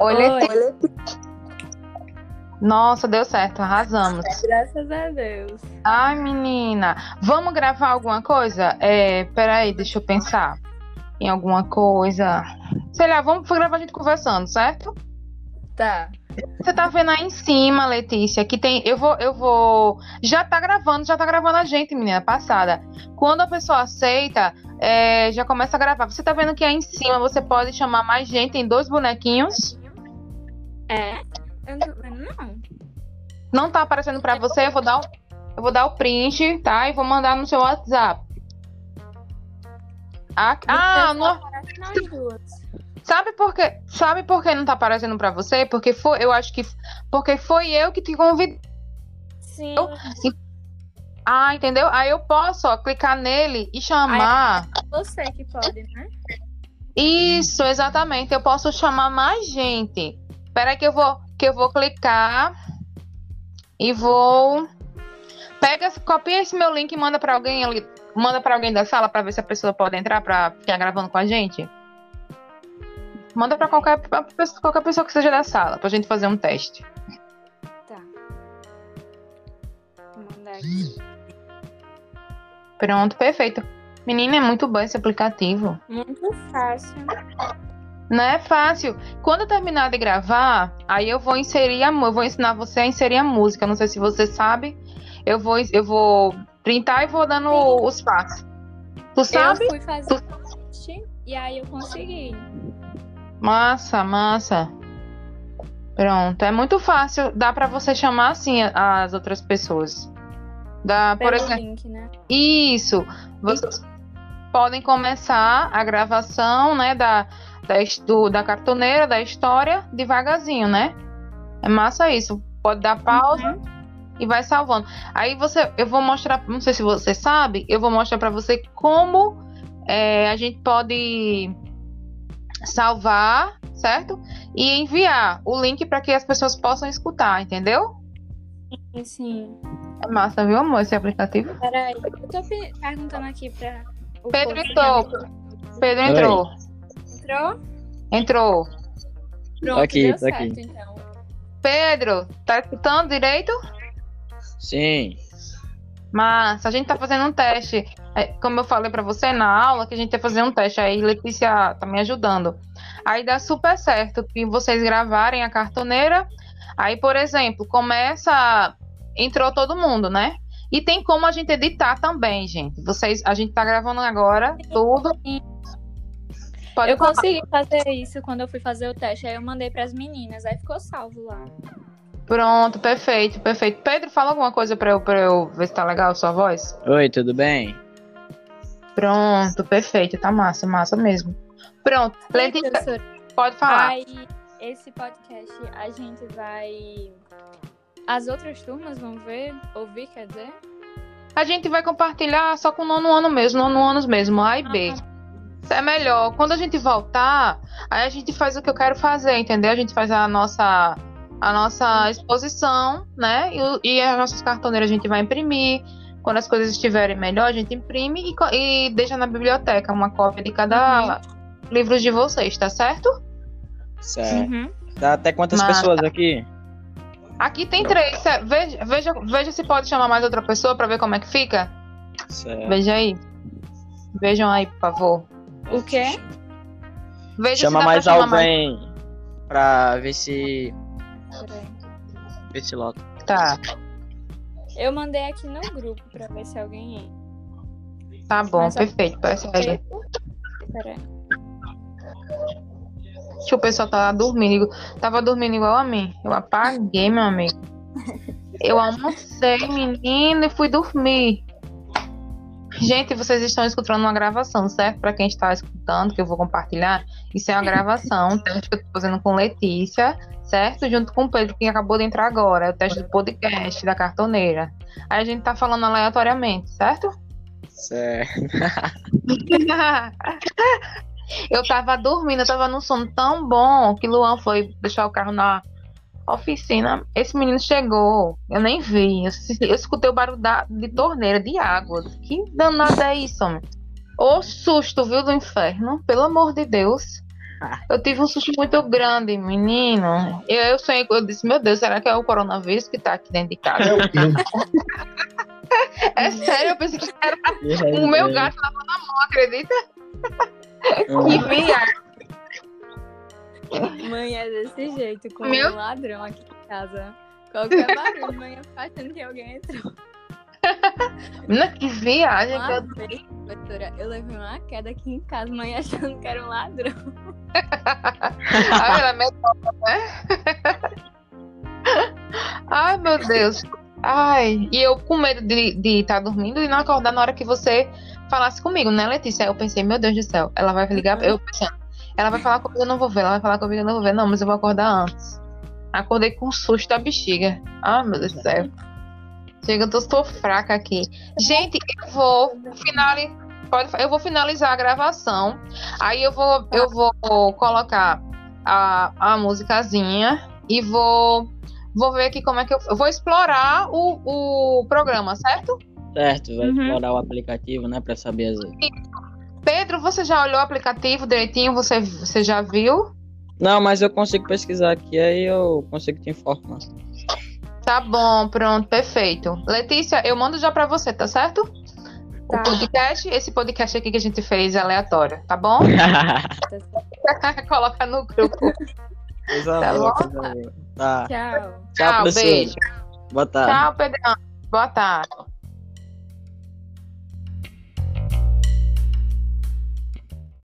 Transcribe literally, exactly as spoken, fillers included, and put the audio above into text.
Oi, Oi, Letícia. Nossa, deu certo, arrasamos. graças a Deus. Ai, menina, vamos gravar alguma coisa? É, peraí, deixa eu pensar em alguma coisa. Sei lá, vamos gravar a gente conversando, certo? Tá. Você tá vendo aí em cima, Letícia, que tem. Eu vou, eu vou. Já tá gravando, já tá gravando a gente, menina, passada. Quando a pessoa aceita, é, já começa a gravar. Você tá vendo que aí em cima você pode chamar mais gente, tem dois bonequinhos. É? Eu não tô vendo, não. Não tá aparecendo pra você, eu vou dar o, eu vou dar o print, tá? E vou mandar no seu WhatsApp. Ah, ah, não. Aparece nós duas. Sabe por quê? Sabe por que não tá aparecendo pra você? Porque foi, eu acho que porque foi eu que te convidei. Sim. Ah, entendeu? Aí eu posso, ó, clicar nele e chamar. É você que pode, né? Isso, exatamente. Eu posso chamar mais gente. Espera aí que eu vou, que eu vou clicar e vou. Pega, copia esse meu link e manda pra alguém ali, manda para alguém da sala pra ver se a pessoa pode entrar pra ficar gravando com a gente. Manda pra qualquer, pra qualquer pessoa que seja da sala, pra gente fazer um teste. Tá. Vou mandar aqui. Pronto, perfeito. Menina, é muito bom esse aplicativo. Muito fácil. Não é fácil. Quando eu terminar de gravar, aí eu vou inserir a, eu vou ensinar você a inserir a música. Não sei se você sabe. Eu vou, eu vou printar e vou dando Sim. os passos. Tu sabe? Eu fui fazer o teste e aí eu consegui. Massa, massa. Pronto, é muito fácil. Dá pra você chamar assim as outras pessoas. Dá, por Pelo exemplo. link, né? Isso. Vocês podem começar a gravação, né, da, da, do, da cartoneira, da história, devagarzinho, né? É massa isso. Pode dar pausa Uhum. e vai salvando. Aí você, eu vou mostrar, não sei se você sabe, eu vou mostrar pra você como é, a gente pode salvar, certo? E enviar o link para que as pessoas possam escutar, entendeu? Sim, sim. É massa, viu, amor, esse aplicativo? Peraí, eu tô pe- perguntando aqui pra o Pedro povo. entrou. Pedro entrou. Entrou? Entrou. Pronto, Aqui, deu tá certo, aqui. então. Pedro, tá escutando direito? Sim. Mas a gente tá fazendo um teste. É, como eu falei pra você na aula, que a gente ia fazer um teste. Aí Letícia tá me ajudando. Aí dá super certo que vocês gravarem a cartoneira. Aí, por exemplo, começa. Entrou todo mundo, né? E tem como a gente editar também, gente. Vocês, a gente tá gravando agora tudo. Pode Eu falar. consegui fazer isso quando eu fui fazer o teste. Aí eu mandei pras meninas, aí ficou salvo lá. Pronto, perfeito, perfeito. Pedro, fala alguma coisa pra eu, pra eu ver se tá legal a sua voz. Oi, tudo bem? Pronto, perfeito. Tá massa, massa mesmo. Pronto. Sim, Letícia, professora. pode falar. Aí, esse podcast, a gente vai... As outras turmas vão ver, ouvir, quer dizer? A gente vai compartilhar só com o nono ano mesmo, nono anos mesmo, A e B. Isso é melhor. Quando a gente voltar, aí a gente faz o que eu quero fazer, entendeu? A gente faz a nossa, a nossa exposição, né? E, o- e as nossas cartoneiras a gente vai imprimir. Quando as coisas estiverem melhor, a gente imprime e, co- e deixa na biblioteca uma cópia de cada livro de vocês, tá certo? Certo. Uhum. Dá até quantas Mas- pessoas aqui? Aqui tem três. cê- Veja, veja, veja se pode chamar mais outra pessoa pra ver como é que fica. Certo. Veja aí. Vejam aí, por favor. O quê? Veja se Chama dá mais pra chamar alguém pra ver se. Peraí. ver se lota. mais. Tá, Eu mandei aqui no grupo pra ver se alguém entra. tá bom, Mas a- perfeito. Persegue. Peraí. Deixa o pessoal tá dormindo. Tava dormindo igual a mim. Eu apaguei, meu amigo. Eu almocei, menino, e fui dormir. Gente, vocês estão escutando uma gravação, certo? Pra quem está escutando, que eu vou compartilhar, isso é uma gravação, um teste que eu tô fazendo com Letícia, certo? Junto com o Pedro, que acabou de entrar agora. É o teste do podcast da cartoneira. Aí a gente tá falando aleatoriamente, certo? Certo. Eu tava dormindo, eu tava num sono tão bom que Luan foi deixar o carro na oficina. Esse menino chegou, eu nem vi. Eu, eu escutei o barulho da, de torneira de água. Que danada é isso, homem? Ô susto, viu, do inferno? Pelo amor de Deus. Eu tive um susto muito grande, menino. Eu, eu sonhei, eu disse, meu Deus, será que é o coronavírus que tá aqui dentro de casa? É o quê? É sério, eu pensei que era o meu gato lavando a mão, acredita? Que viagem. Mãe é desse jeito, com Meu- um ladrão aqui em casa. Qualquer barulho, mãe faz achando que alguém entrou. Menina, que viagem. que Uma eu- vez, professora, eu levei uma queda aqui em casa, mãe achando que era um ladrão. Ai, ela é medrosa, né? Ai, meu Deus. Ai, e eu com medo de estar dormindo e não acordar na hora que você falasse comigo, né, Letícia? Aí eu pensei, meu Deus do céu, ela vai ligar, eu pensando, ela vai falar comigo, eu não vou ver, ela vai falar comigo, eu não vou ver, não, mas eu vou acordar antes. Acordei com um susto da bexiga. Ai, meu Deus do céu. Chega, eu tô, tô fraca aqui. Gente, eu vou finalizar, pode, eu vou finalizar a gravação. Aí eu vou, eu vou colocar a, a musicazinha e vou, vou ver aqui como é que eu, eu vou explorar o, o programa, certo? Certo, vai Uhum. explorar o aplicativo, né, pra saber as... Pedro, você já olhou o aplicativo direitinho? Você, você já viu? Não, mas eu consigo pesquisar aqui, aí eu consigo te informar. Tá bom, pronto, perfeito. Letícia, eu mando já pra você, tá certo? Tá. O podcast, esse podcast aqui que a gente fez é aleatório, tá bom? Coloca no grupo. Coisa Tá boa, bom? coisa boa. Tá. Tchau. Tchau, Tchau, professor. beijo. Boa tarde. Tchau, Pedrão. Boa tarde.